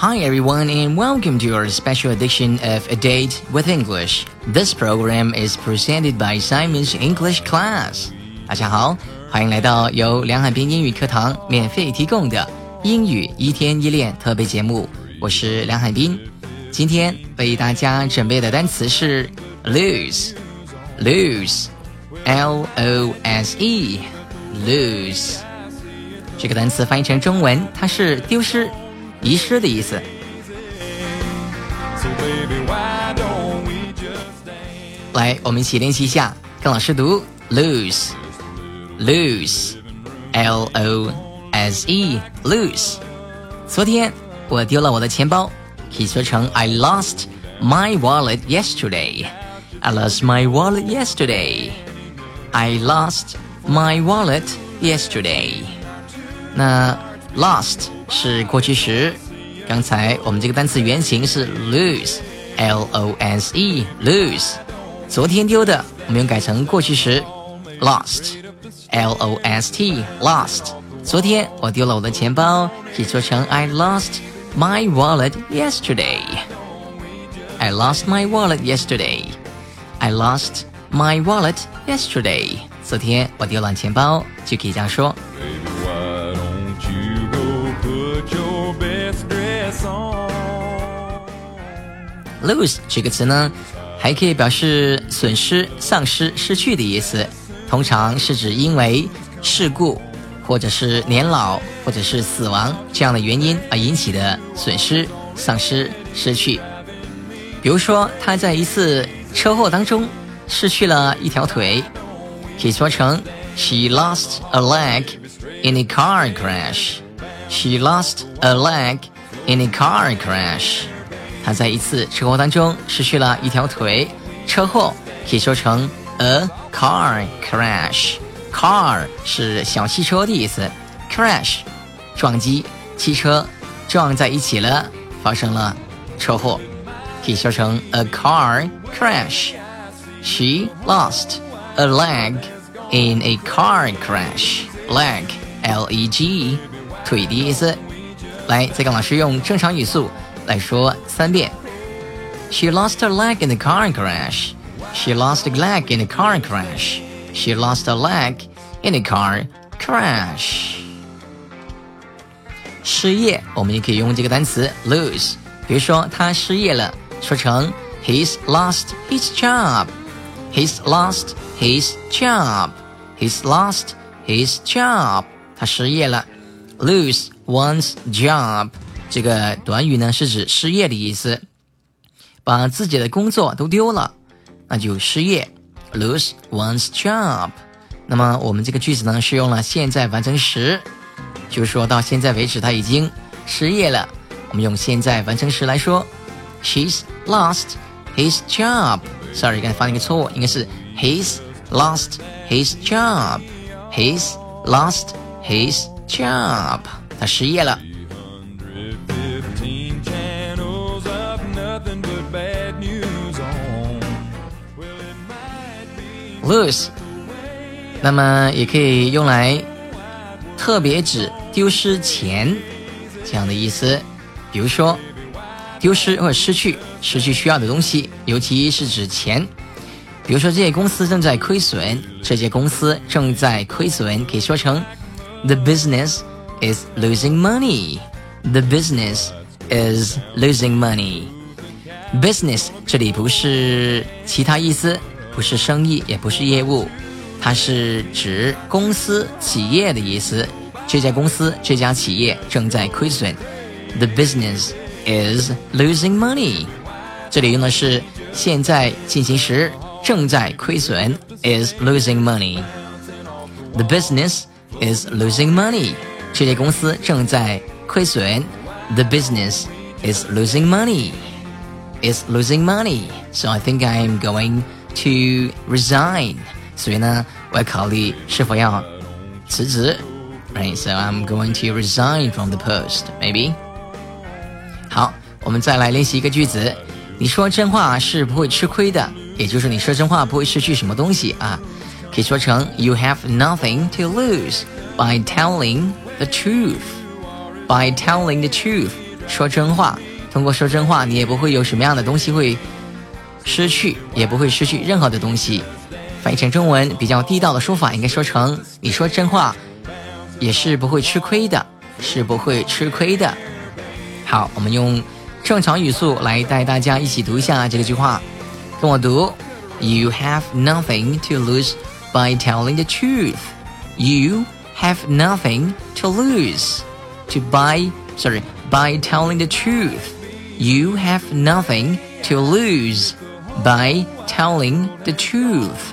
Hi everyone and welcome to our special edition of A Date with English. This program is presented by Simon's English Class. 大家好，欢迎来到由梁海滨英语课堂免费提供的英语一天一练特别节目，我是梁海滨。今天为大家准备的单词是 lose, L-O-S-E, lose. 这个单词翻译成中文，它是丢失、遗失的意思。来，我们一起练习一下，跟老师读 lose, L-O-S-E, lose. 昨天我丢了我的钱包，可以说成 I lost my wallet yesterday. I lost my wallet yesterday. I lost my wallet yesterday. 那 lost 是过去时，刚才我们这个单词原型是 lose, L-O-S-E, lose. 昨天丢的，我们用改成过去时 lost, L-O-S-T, lost. 昨天我丢了我的钱包，可以说成 I lost my wallet yesterday. I lost my wallet yesterday. I lost my wallet yesterday. 昨天我丢了钱包，就可以这样说。lose 这个词呢，还可以表示损失、丧失、失去的意思，通常是指因为事故或者是年老或者是死亡这样的原因而引起的损失、丧失、失去。比如说他在一次车祸当中失去了一条腿，可以说成 She lost a leg in a car crash. She lost a leg in a car crash. 他在一次车祸当中失去了一条腿，车祸可以说成 a car crash. Car 是小汽车的意思， crash 撞击，汽车撞在一起了，发生了车祸，可以说成 a car crash. She lost a leg in a car crash. Leg, L-E-G, 腿的意思。来，再跟老师用正常语速来说3遍。She lost her leg in a car crash. She lost a leg in a car crash. She lost a leg in a car crash. 失业，我们也可以用这个单词 lose。比如说他失业了，说成 He's lost his job. He's lost his job. He's lost his job. 他失业了。Lose one's job. 这个短语呢是指失业的意思，把自己的工作都丢了，那就失业 lose one's job。 那么我们这个句子呢是用了现在完成时，就是说到现在为止他已经失业了，我们用现在完成时来说 She's lost his job. Sorry， 刚才发了一个错误，应该是 He's lost his job. He's lost his job. 他失业了。lose 那么也可以用来特别指丢失钱这样的意思，比如说丢失或者失去需要的东西，尤其是指钱。比如说这些公司正在亏损，可以说成 The business is losing money. The business is losing money. Business 这里不是其他意思，不是生意，也不是业务，它是指公司、企业的意思。这家公司、这家企业正在亏损。The business is losing money. 这里用的是现在进行时，正在亏损 is losing money. The business is losing money. 这家公司正在亏损。The business is losing money. Is losing money. So I think I'm going to resign. 所以呢，我要考虑是否要辞职。Right, so I'm going to resign from the post, maybe. 好，我们再来练习一个句子。你说真话是不会吃亏的，也就是你说真话不会失去什么东西啊。可以说成 You have nothing to lose by telling the truth. By telling the truth. 说真话，通过说真话你也不会有什么样的东西会失去，也不会失去任何的东西。翻译成中文比较地道的说法应该说成你说真话也是不会吃亏的，是不会吃亏的。好，我们用正常语速来带大家一起读一下这个句话，跟我读 You have nothing to lose by telling the truth. You have nothing to lose by telling the truth. You have nothing to lose by telling the truth.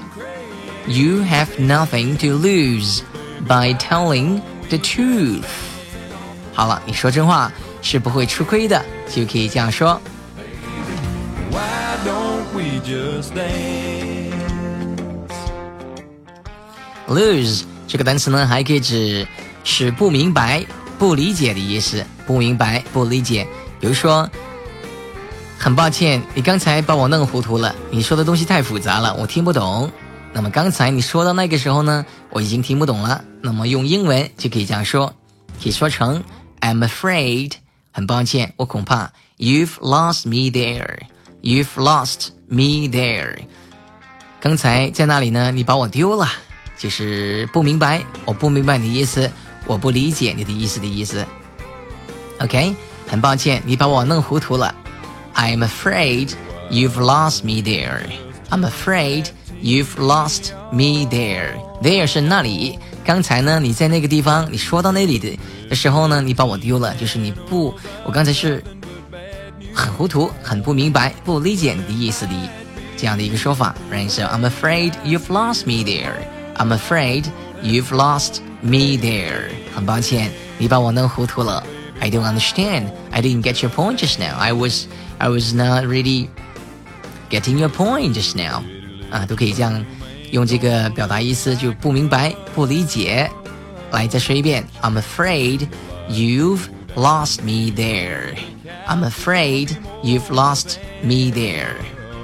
You have nothing to lose by telling the truth. 好了，你说真话是不会吃亏的，就可以这样说。Lose 这个单词呢，还可以指是不明白、不理解的意思。不明白、不理解，比如说，很抱歉，你刚才把我弄糊涂了，你说的东西太复杂了，我听不懂。那么刚才你说到那个时候呢，我已经听不懂了。那么用英文就可以这样说，可以说成 I'm afraid， 很抱歉，我恐怕 You've lost me there. You've lost me there. 刚才在那里呢，你把我丢了，就是不明白，我不明白你的意思，我不理解你的意思的意思。OK， 很抱歉，你把我弄糊涂了。I'm afraid you've lost me there. I'm afraid you've lost me there. There 是那里。刚才呢，你在那个地方，你说到那里的时候呢，你把我丢了，就是我刚才是很糊涂，很不明白，不理解你的意思的这样的一个说法。Right? So I'm afraid you've lost me there. I'm afraid you've lost me there. 很抱歉，你把我弄糊涂了。I don't understand. I didn't get your point just now. I was not really getting your point just now. 都可以这样用这个表达意思，就不明白、不理解。来，再说一遍。I'm afraid you've lost me there. I'm afraid you've lost me there.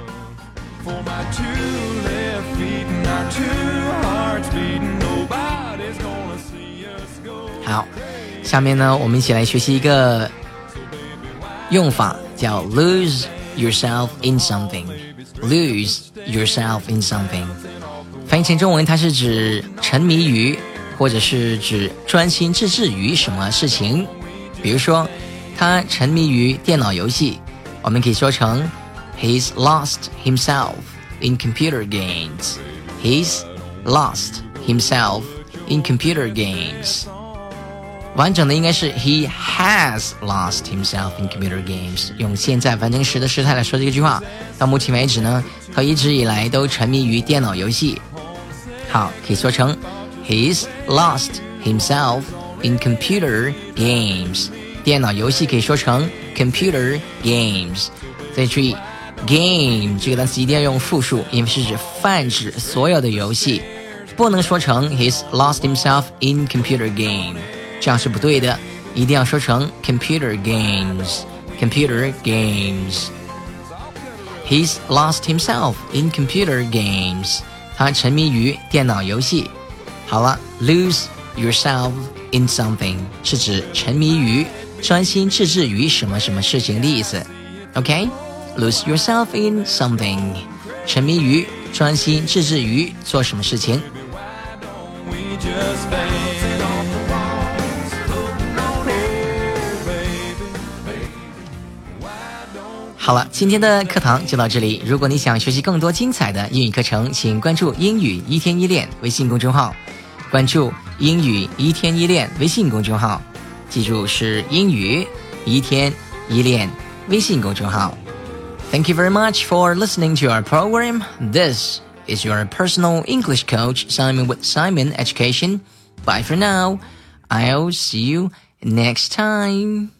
For my two left feet and our two hearts beating, nobody's gonna see us go. 好，下面呢，我们一起来学习一个用法，叫 lose yourself in something. Lose yourself in something. 翻译成中文，它是指沉迷于，或者是指专心致志于什么事情。比如说，他沉迷于电脑游戏，我们可以说成 He's lost himself in computer games. He's lost himself in computer games. 完整的应该是 He has lost himself in computer games. 用现在完成时的时态来说这个句话，到目前为止呢，他一直以来都沉迷于电脑游戏。好，可以说成 He's lost himself in computer games. 电脑游戏可以说成 computer games. 再注意 game 这个单词一定要用复数，因为是指泛指所有的游戏，不能说成 He's lost himself in computer game， 这样是不对的，一定要说成 computer games. Computer games. He's lost himself in computer games. 他沉迷于电脑游戏。好了 lose yourself in something 是指沉迷于、专心致志于什么什么事情的意思。 OK， lose yourself in something 沉迷于、专心致志于做什么事情。好了，今天的课堂就到这里。如果你想学习更多精彩的英语课程，请关注英语一天一练微信公众号，关注英语一天一练微信公众号，记住是英语一天一练微信公众号。Thank you very much for listening to our program. This is your personal English coach, Simon with Simon Education. Bye for now. I'll see you next time.